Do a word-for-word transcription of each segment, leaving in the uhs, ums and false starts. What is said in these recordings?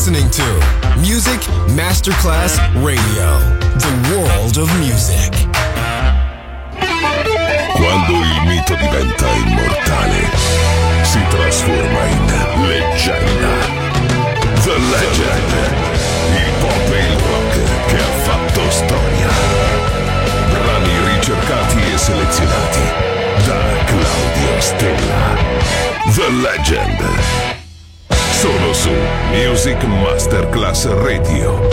listening to Music Masterclass Radio, the world of music. Quando il mito diventa immortale, si trasforma in leggenda. The Legend, il pop e il rock che ha fatto storia. Brani ricercati e selezionati da Claudio Stella. The Legend. Solo su Music Masterclass Radio.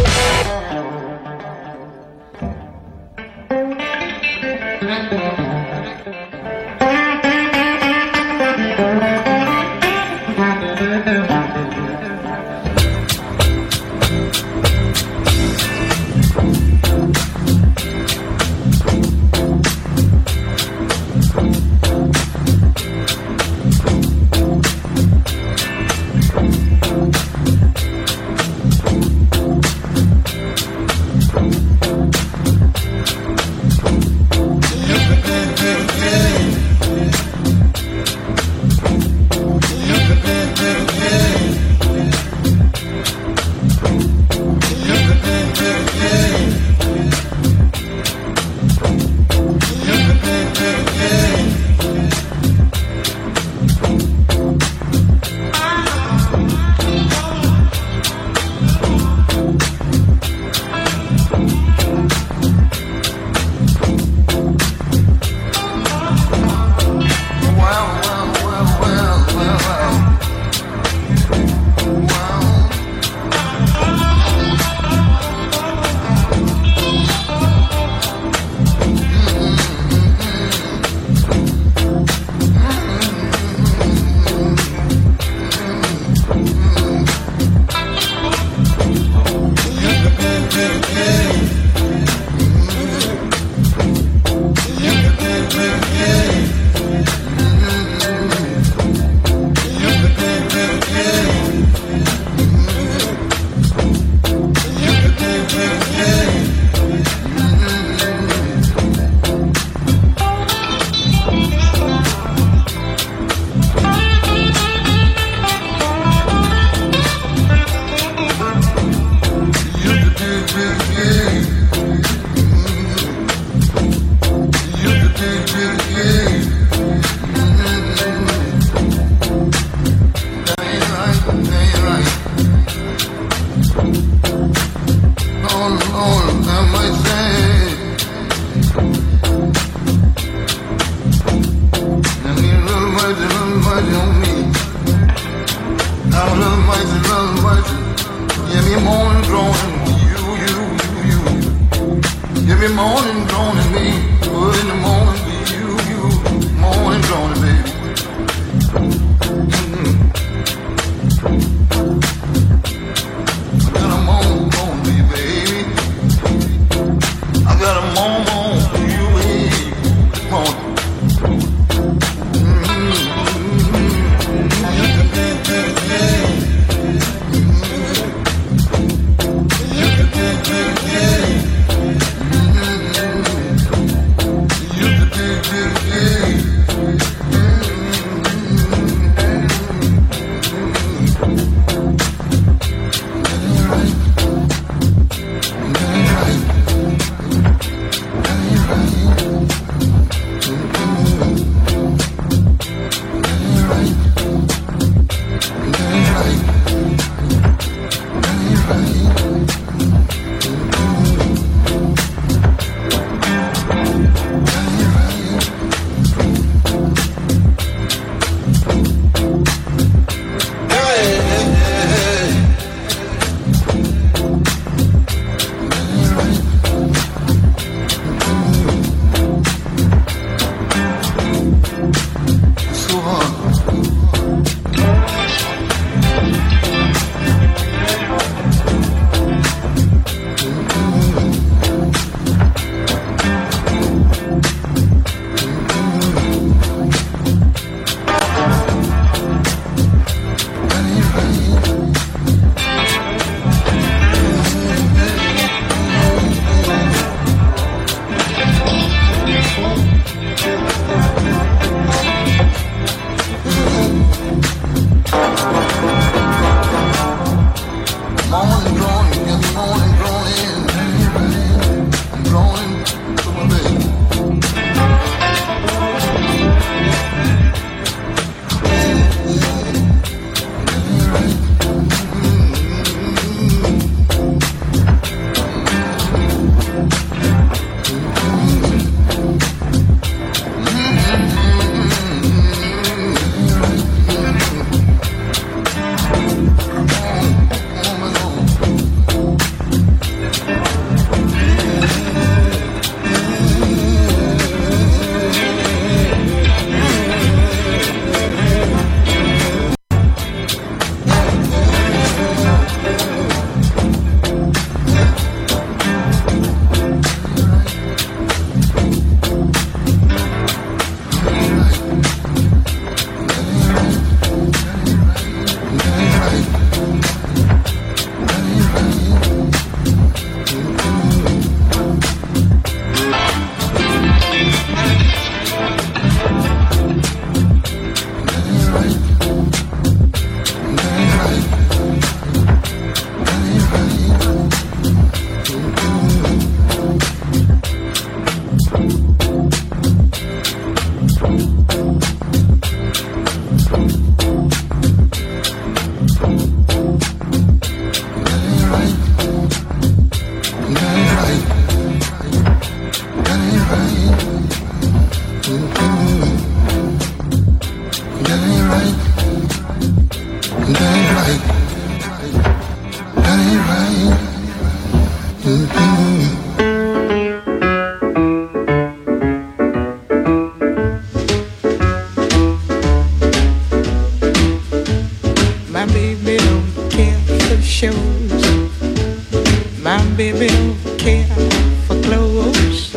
shows. My baby don't care for clothes.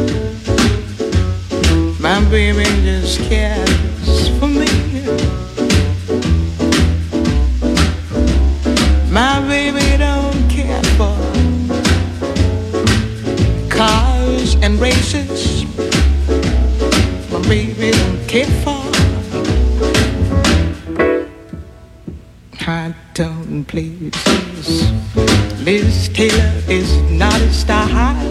My baby just cares for me. My baby don't care for cars and races. My baby don't care for high-tone places. Liz Taylor is not a style,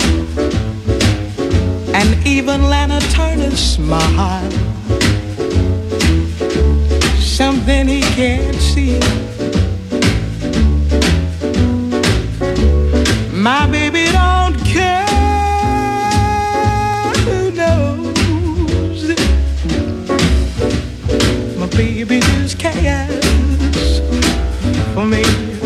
and even Lana Turner's smile, something he can't see. My baby don't care, who knows? My baby just cares for me.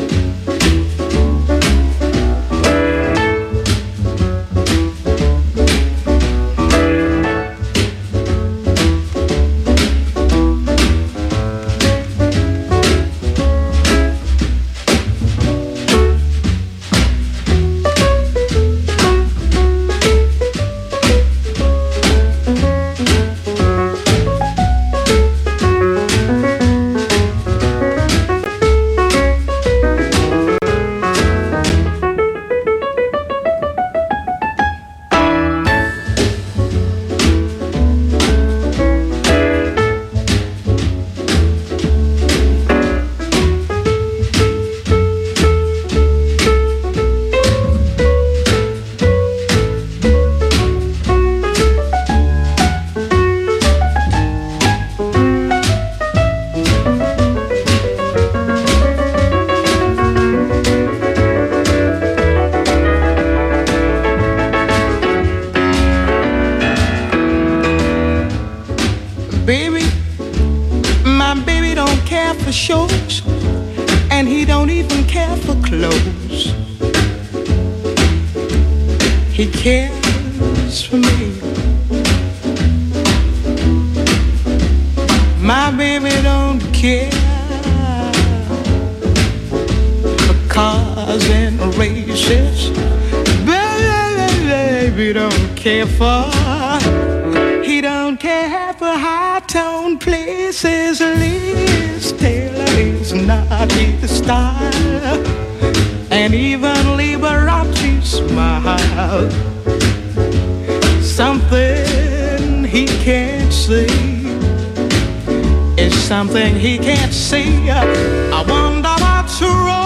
Something he can't see. I wonder what's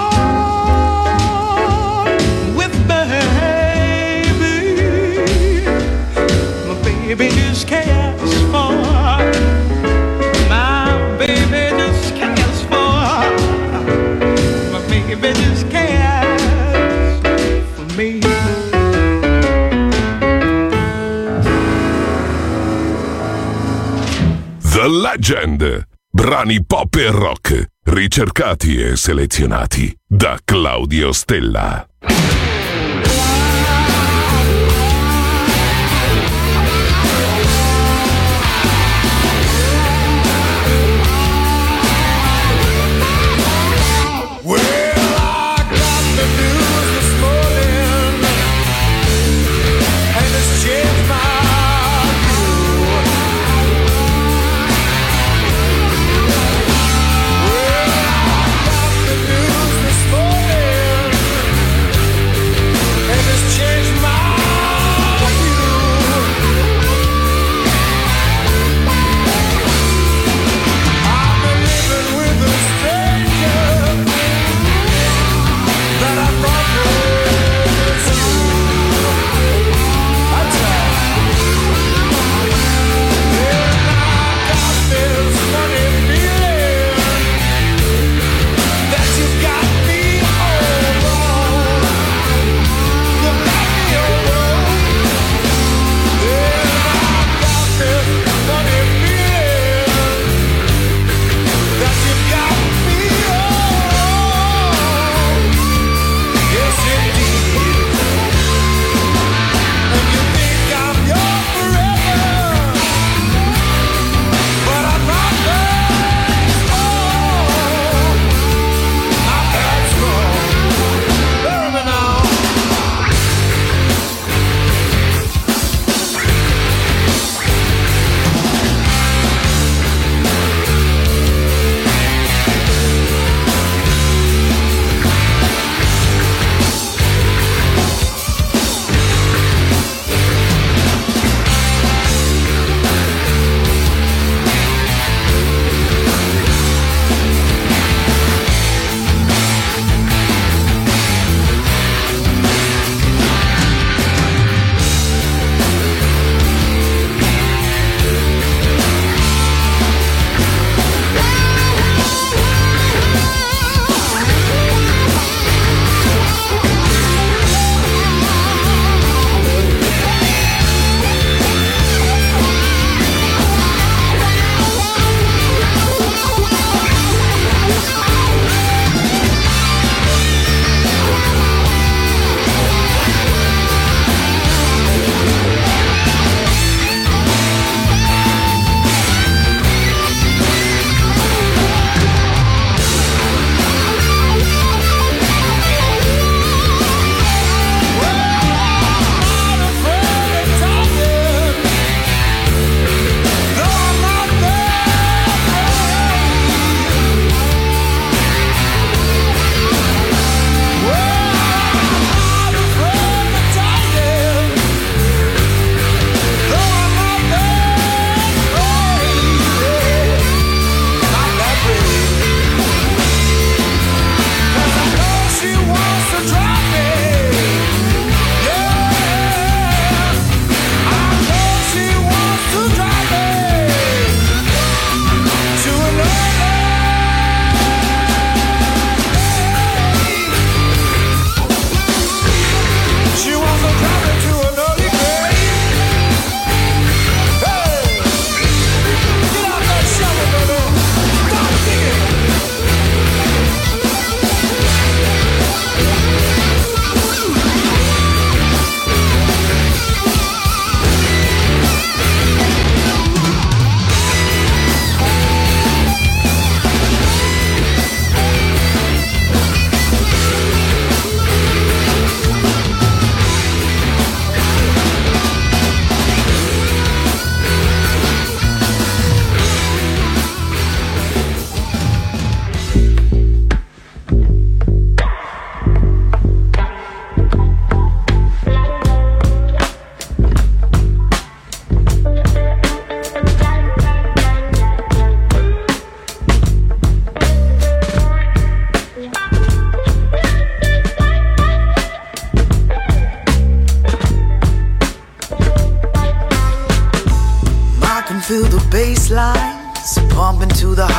wrong with baby. My baby just cares for. My baby just cares for. My baby just cares for me. The Legend. Brani pop e rock, ricercati e selezionati da Claudio Stella.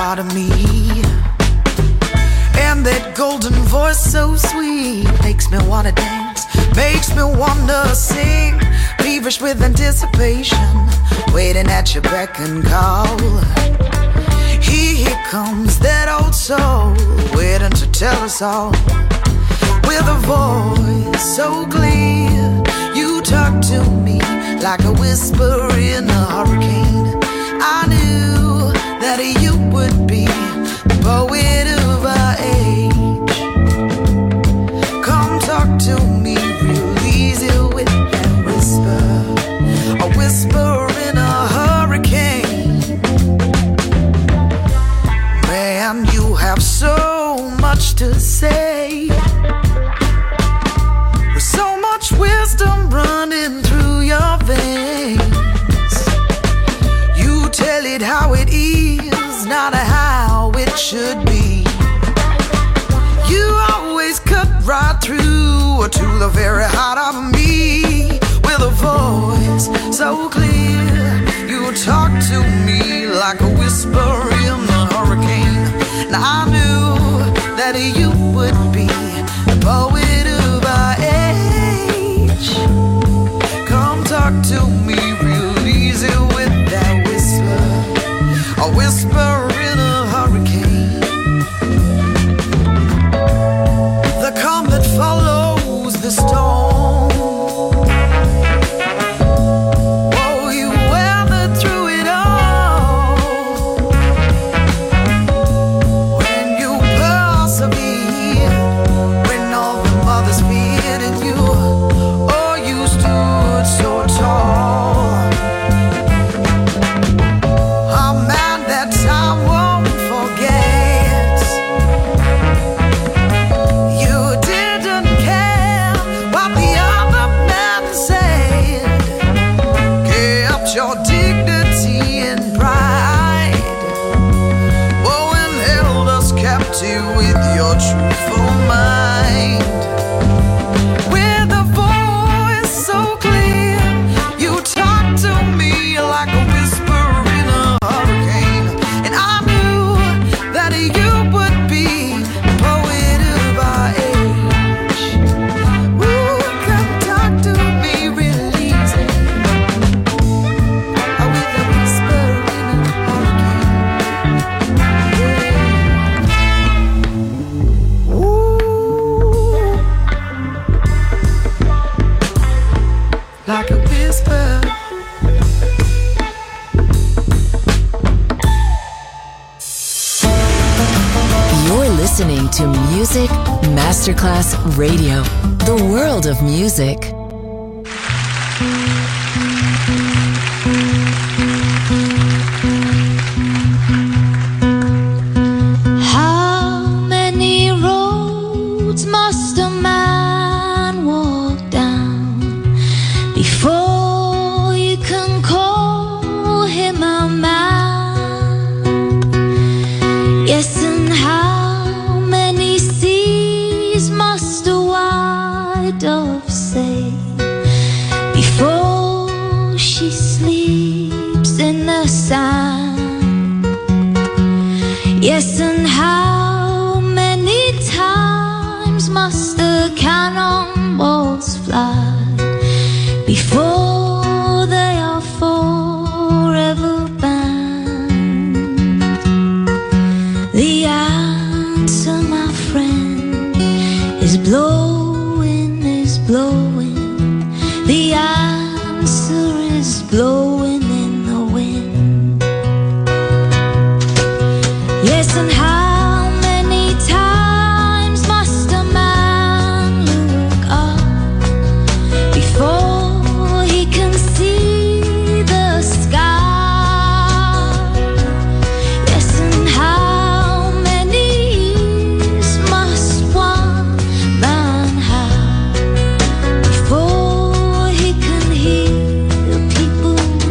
out of me. And that golden voice so sweet makes me wanna dance, makes me wanna sing, feverish with anticipation, waiting at your beck and call. Here comes that old soul, waiting to tell us all. With a voice so clear, you talk to me like a whisper in a hurricane. I knew that you would be the poet of our age. Come talk to me real easy with that whisper, a whisper in a hurricane. Man, you have so much to say, with so much wisdom running through your veins. You tell it how it is, not how it should be. You always cut right through to the very heart of me. With a voice so clear, you talk to me like a whisper in the hurricane. Now I knew that you would be the poet of our age. Come talk to me real easy with that whisper, a whisper in a hurricane. The calm that follows the storm. Oh, you weathered through it all. When you persevered, when all the mothers feared in you, oh, you stood so tall. A man that time won't forget. You didn't care what the other man said. Kept your dignity and pride. Oh, and held us captive with your truthful mind. With a voice so clear, you talk to me like a whisper in a hurricane. And I knew that you would be the poet of our age. Ooh, come talk to me real easy, with a whisper in a hurricane. Yeah. Ooh, like a whisper. You're listening to Music Masterclass Radio, the world of music. How many roads must a man walk down before you can call him a man? Yes, and how many seas must a white dove sail before she sleeps in the sand? Yes, and how many times must the cannonballs fly before they are forever banned? The answer, my friend, is blowing, is blowing. The answer is blowing in the wind. Yes, and how many times must a man look up before he can see the sky? Yes, and how many years must one man have before he can hear people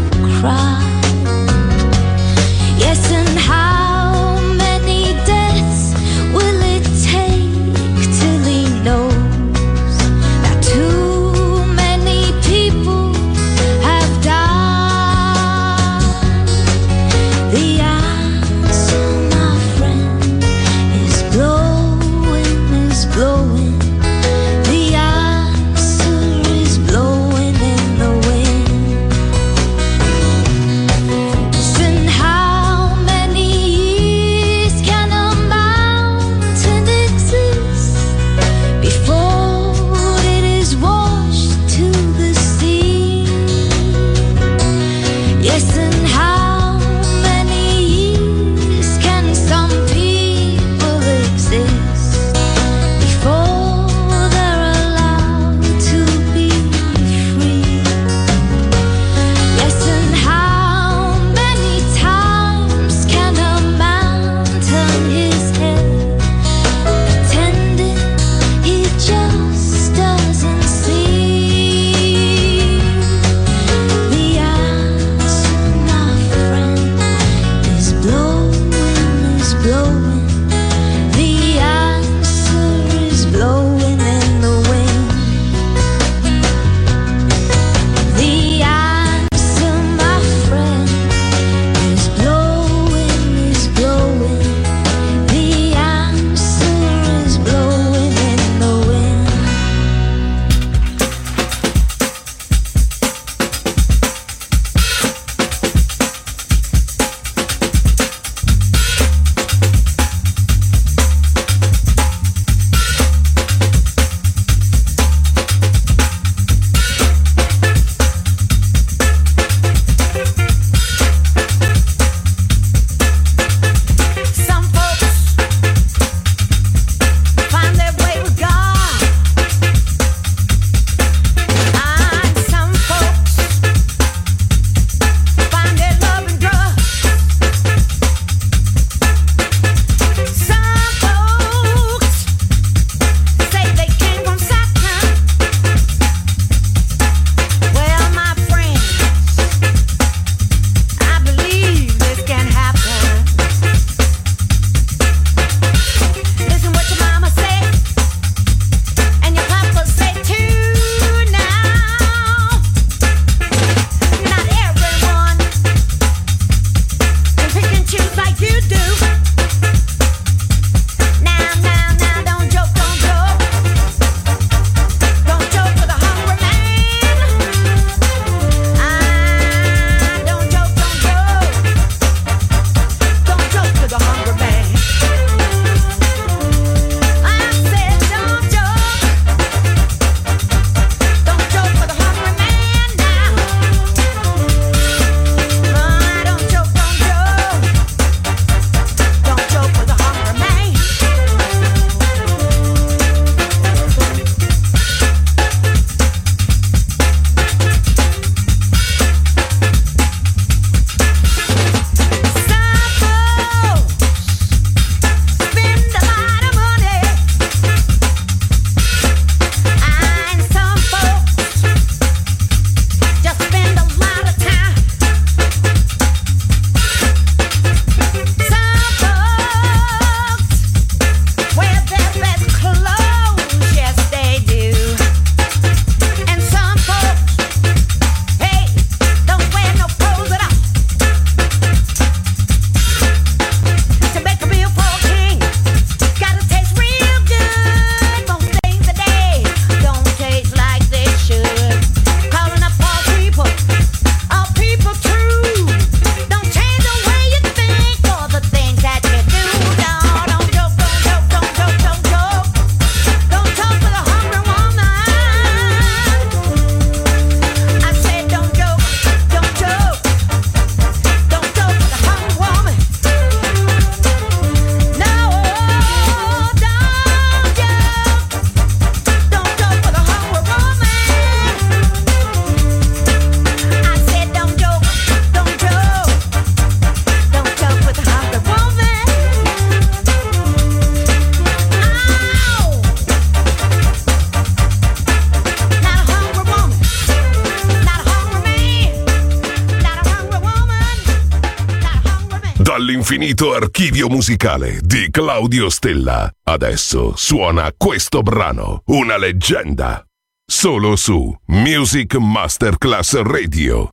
L'infinito archivio musicale di Claudio Stella. Adesso suona questo brano, una leggenda. Solo su Music Masterclass Radio.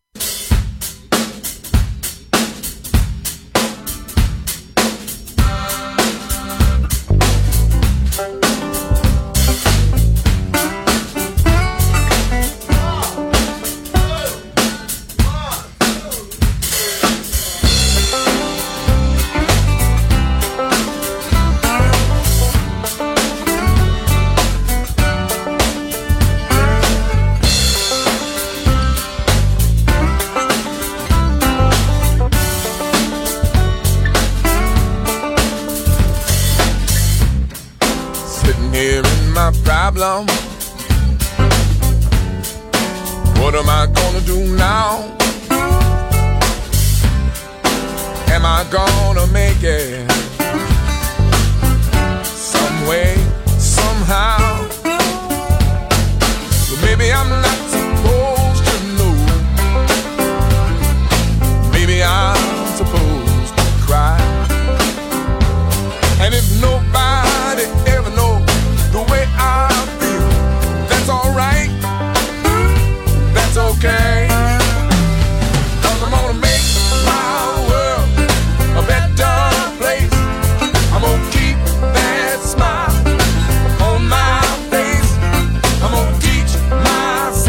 Problem. What am I gonna do now? Am I gonna make it some way, somehow? Well, maybe I'm not supposed to know. Maybe I'm supposed to cry. And if nobody ever knows the way I feel, that's alright, that's okay. Cause I'm gonna make my world a better place. I'm gonna keep that smile on my face. I'm gonna teach myself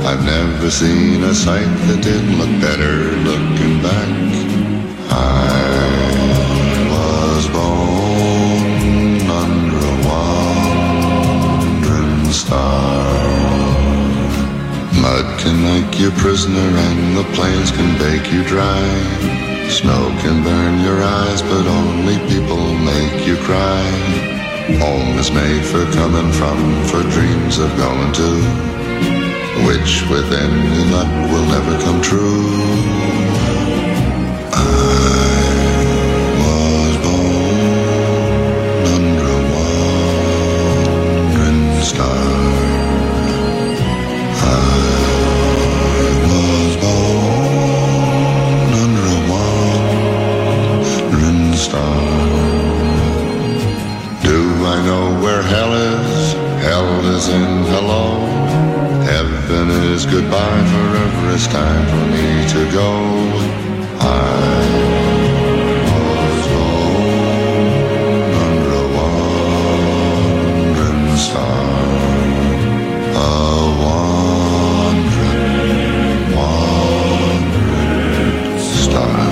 I've never seen a sight that didn't look better looking back. I was born under a wandering star. Mud can make you prisoner and the plains can bake you dry. Snow can burn your eyes, but only people make you cry. Home is made for coming from, for dreams of going to, which with any luck will never come true. I was born under a wandering star. I was born under a wandering star. Do I know where hell is? Hell is in hello. Heaven is goodbye, forever it's time for me to go. I was born under a wandering star. A wandering, wandering star.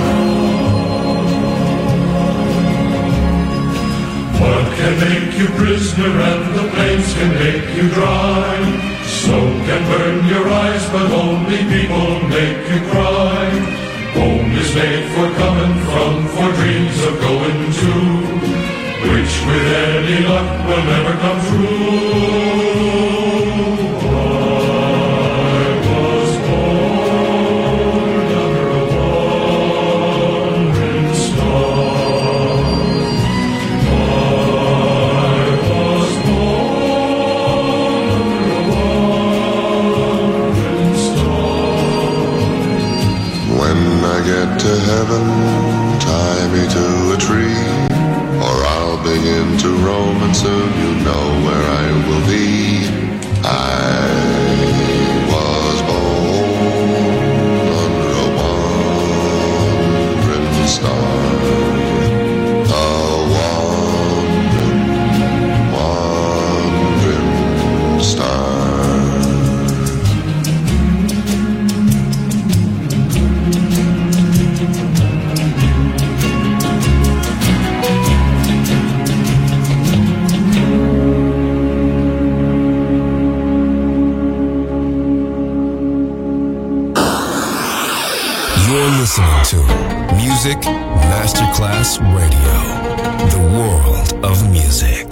What can make you prisoner and the plains can make you dry? Snow can burn your eyes, but only people make you cry. Home is made for coming from, for dreams of going to, which with any luck will never come true. I was born under a wandering star. I was born under a wandering star. When I get to heaven, tie me to a tree, or I'll begin to roam and soon you know where I will be. I was born under a wandering star. A wandering, wandering star. You're listening to Music Masterclass Radio, the world of music.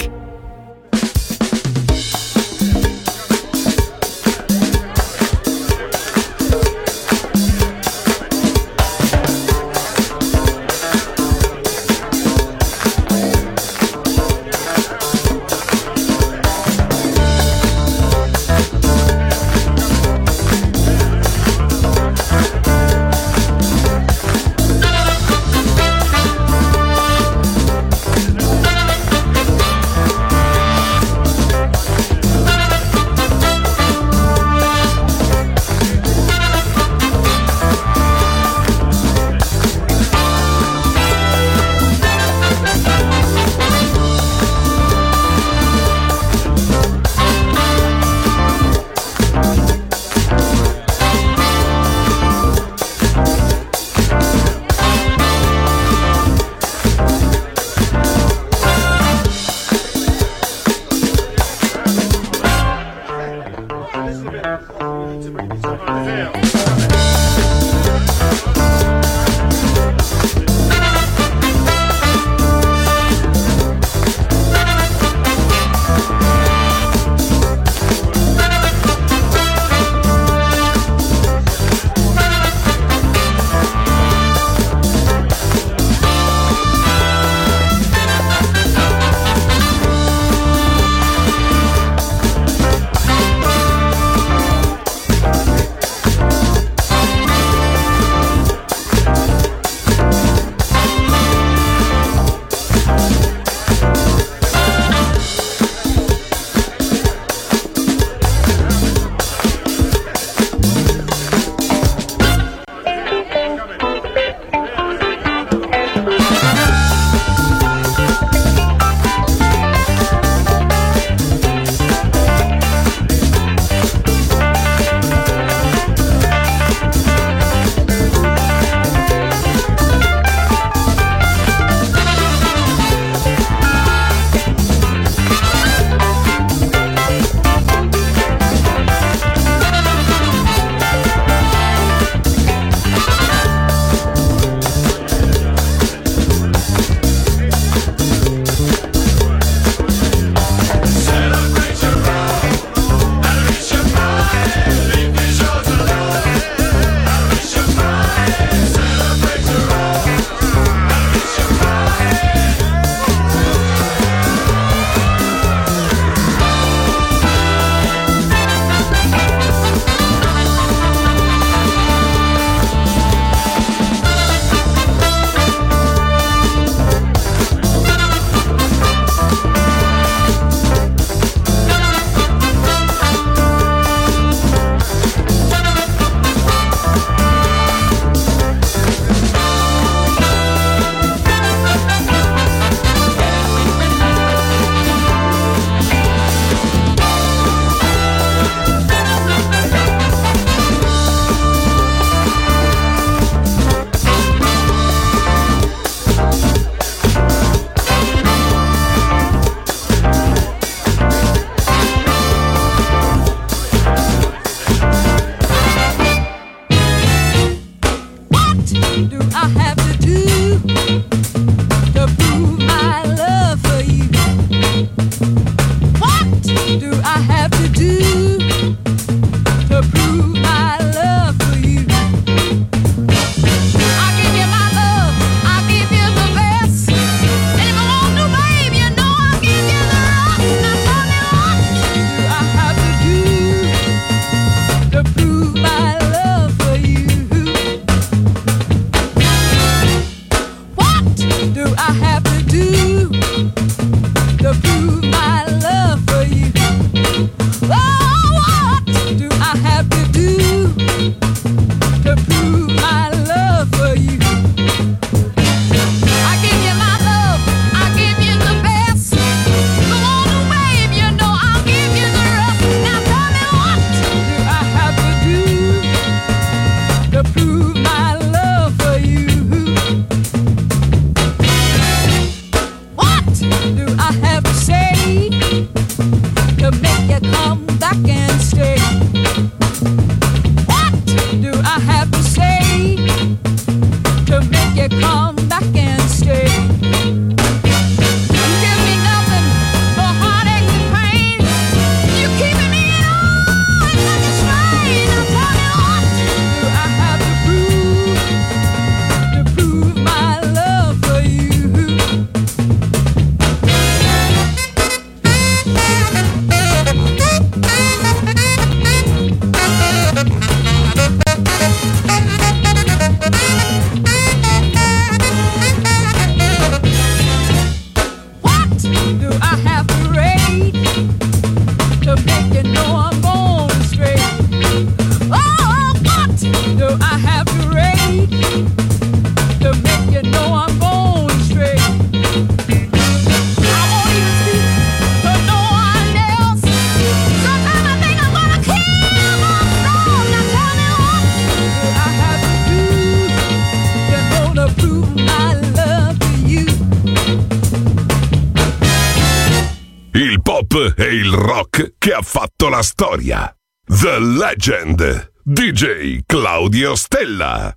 il rock che ha fatto la storia. The Legend, D J Claudio Stella.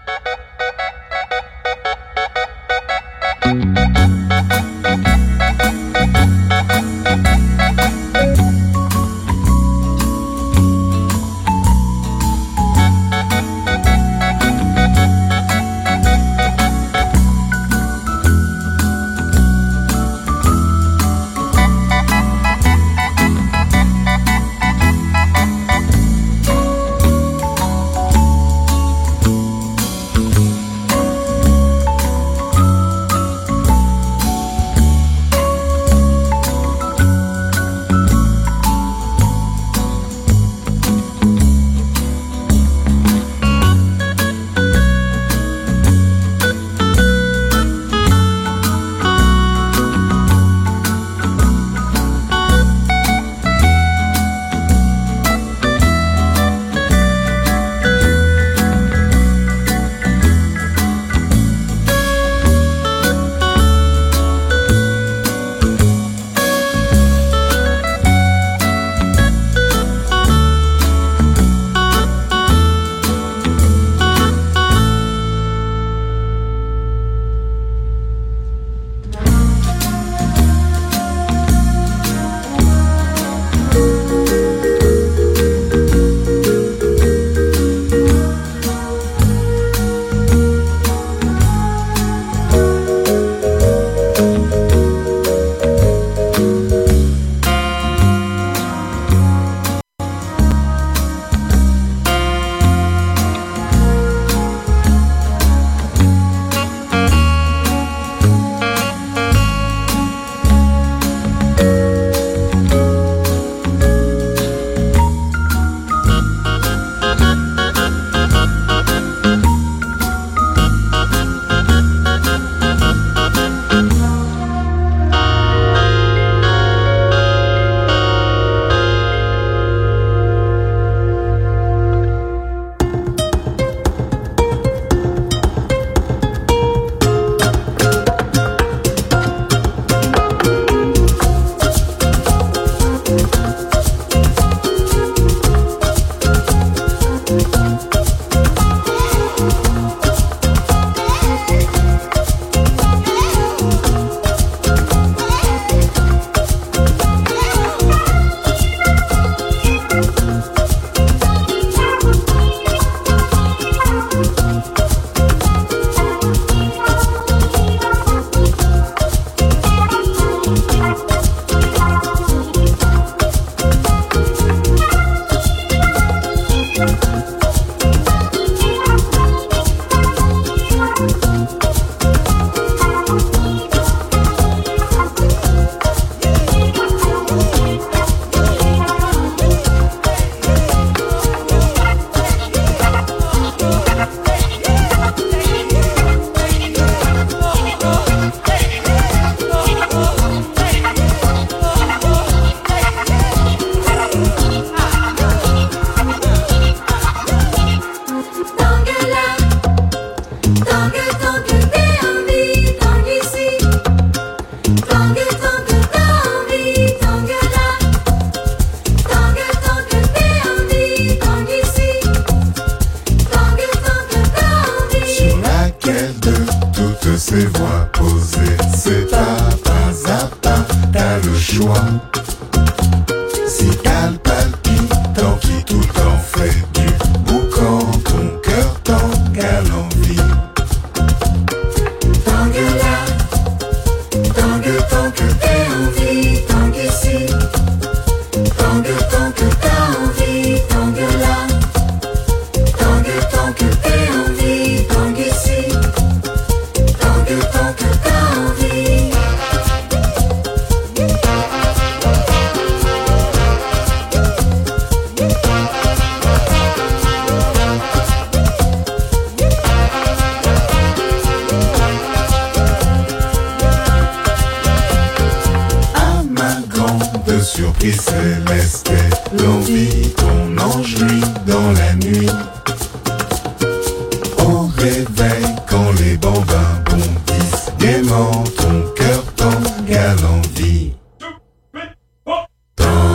ces voix posées, c'est pas pas à pas, t'as le choix. Si t'as le palpitant qui tout le temps fait du boucan, ton cœur t'engale l'envie. Tangue là, tangue tant que t'es envie, tangue ici. Tangue tant que t'as envie, tangue là. Tangue tant que t'es envie, tangue ici. Tangue tant que t'as envie. À ma grande surprise céleste, l'envie qu'on enjouit dans la nuit. Au réveil, quand les bambins bondissent gaiement, ton cœur t'engale l'envie. Tangue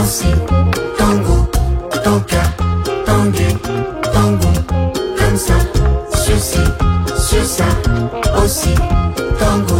aussi. Tango, tanka, tangué, tango, comme ça, ceci, sur ça, aussi. Tango.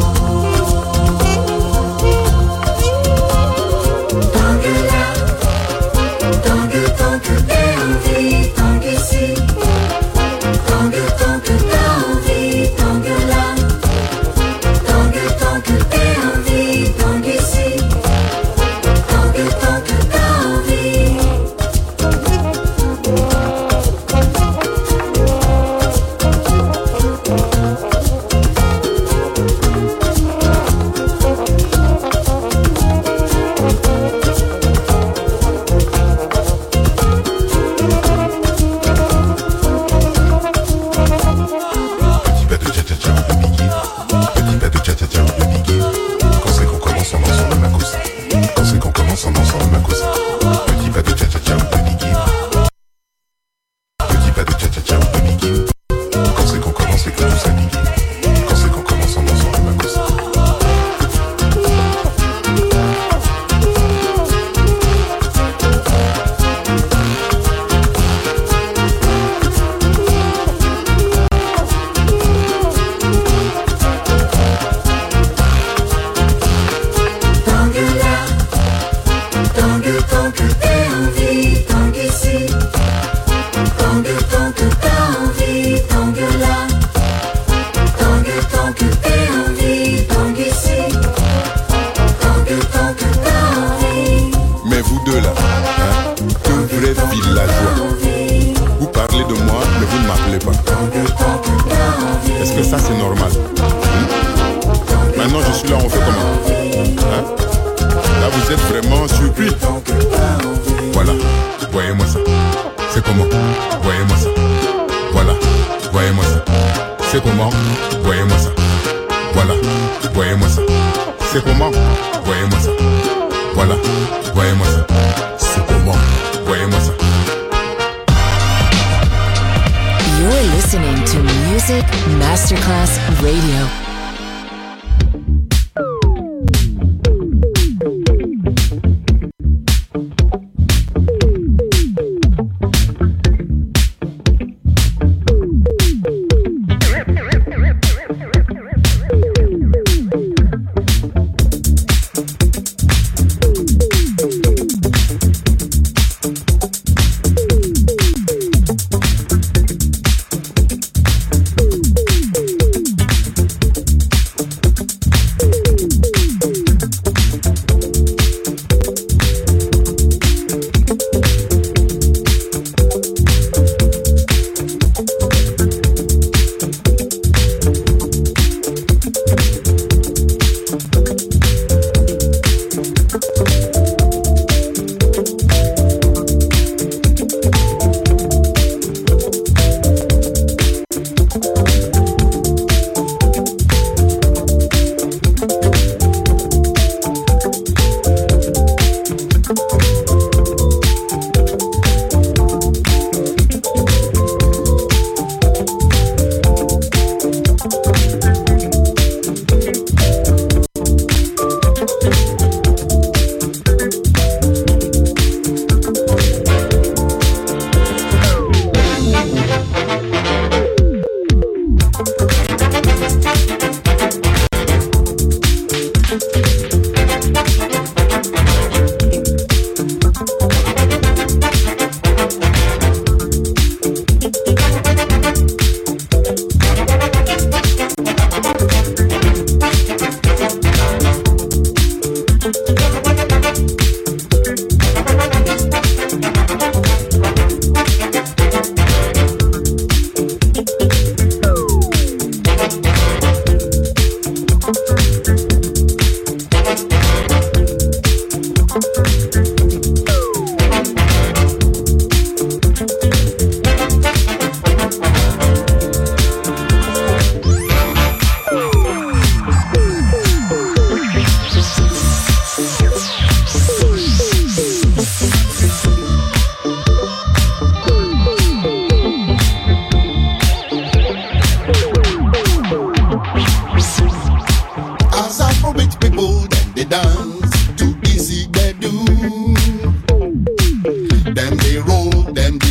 Masterclass Radio.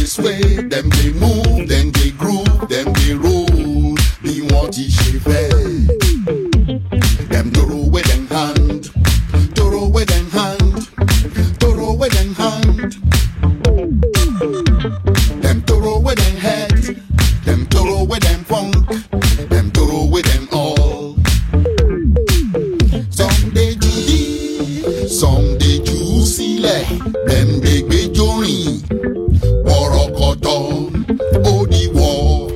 this way, them they move, them they groove, them they roll. Be what he should be. Them throw with them hand, throw with them hand, throw with them hand. Them throw with them head, them throw with them funk, them throw with them all. Some they judy, some they juicy le, them they be jory, worokoto, odi war.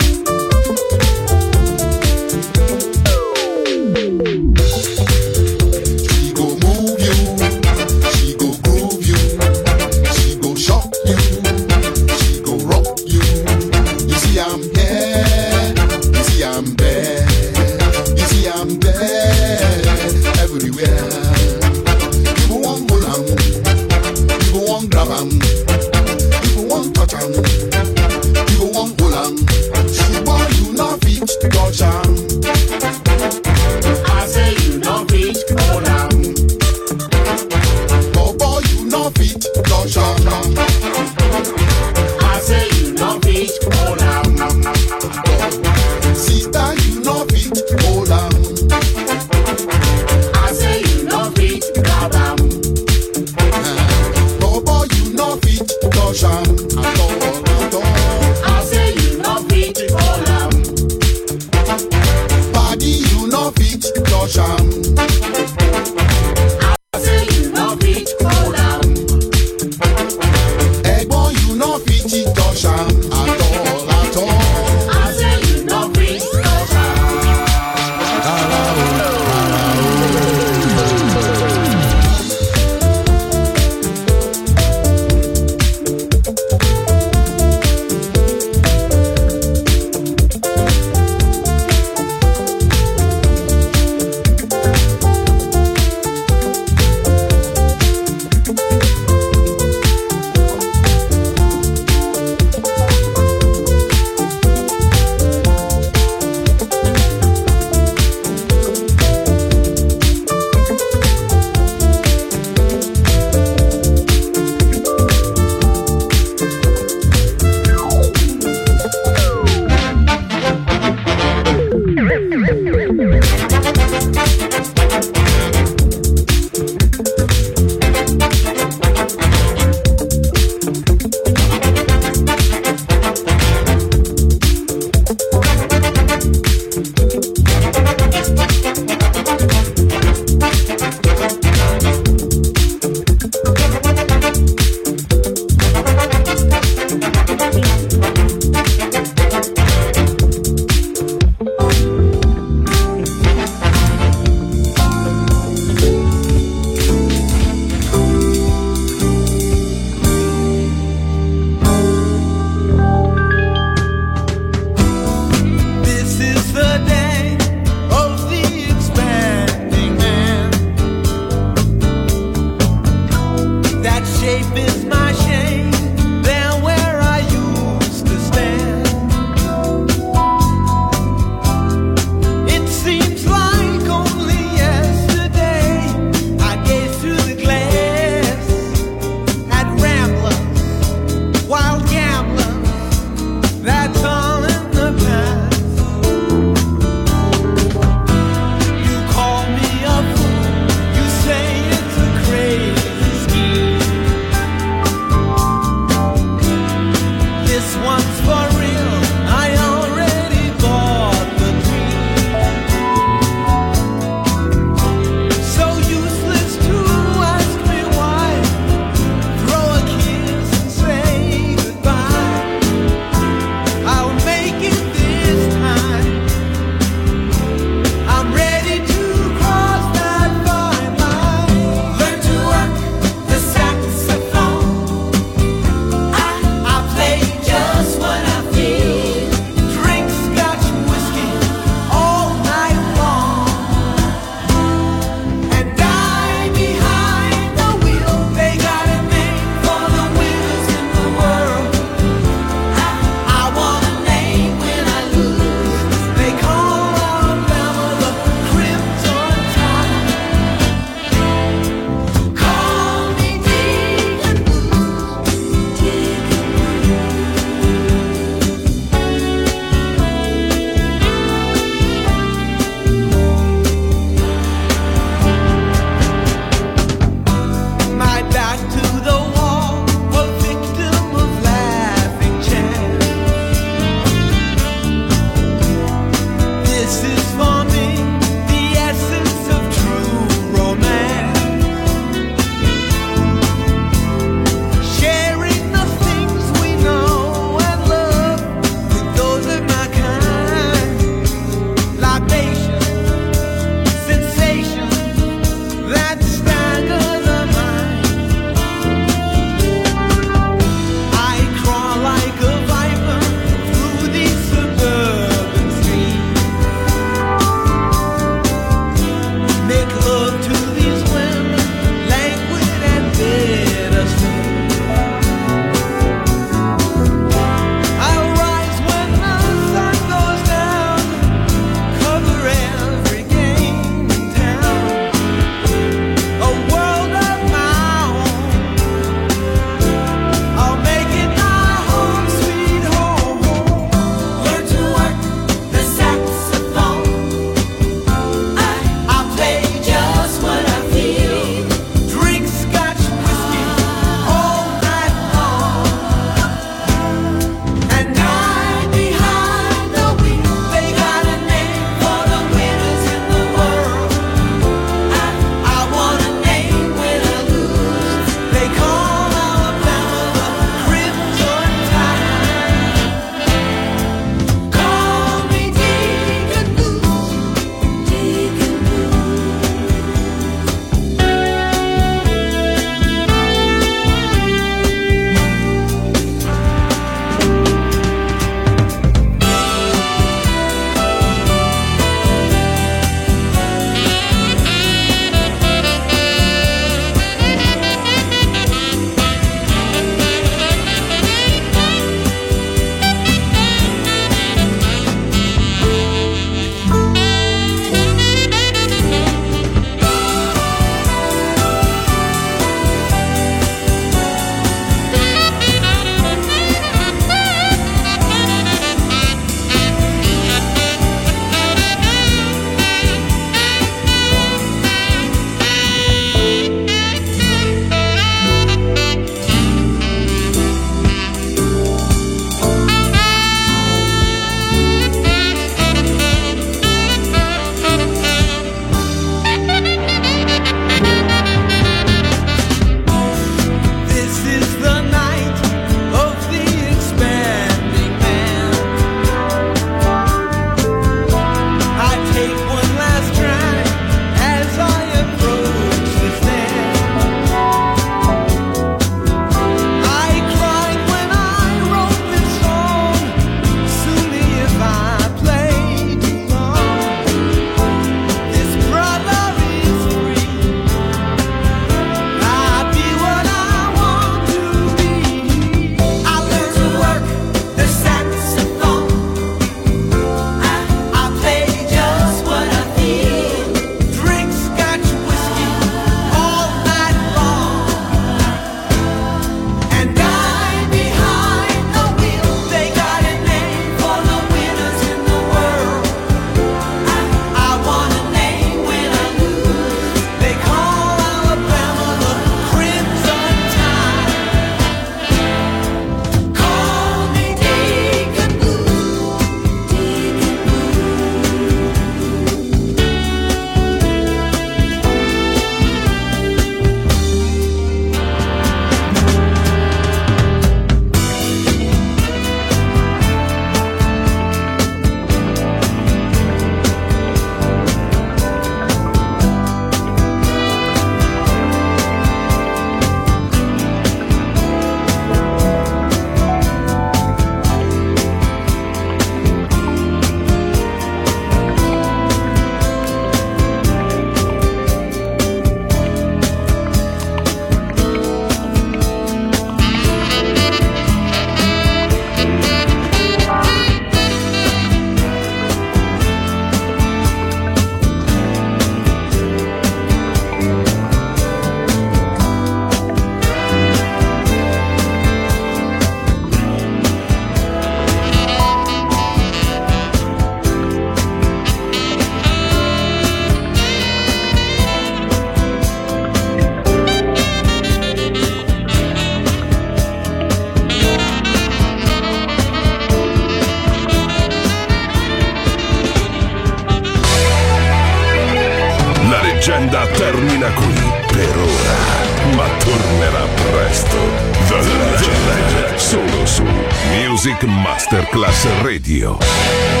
resto The Legend, solo su Music Masterclass Radio.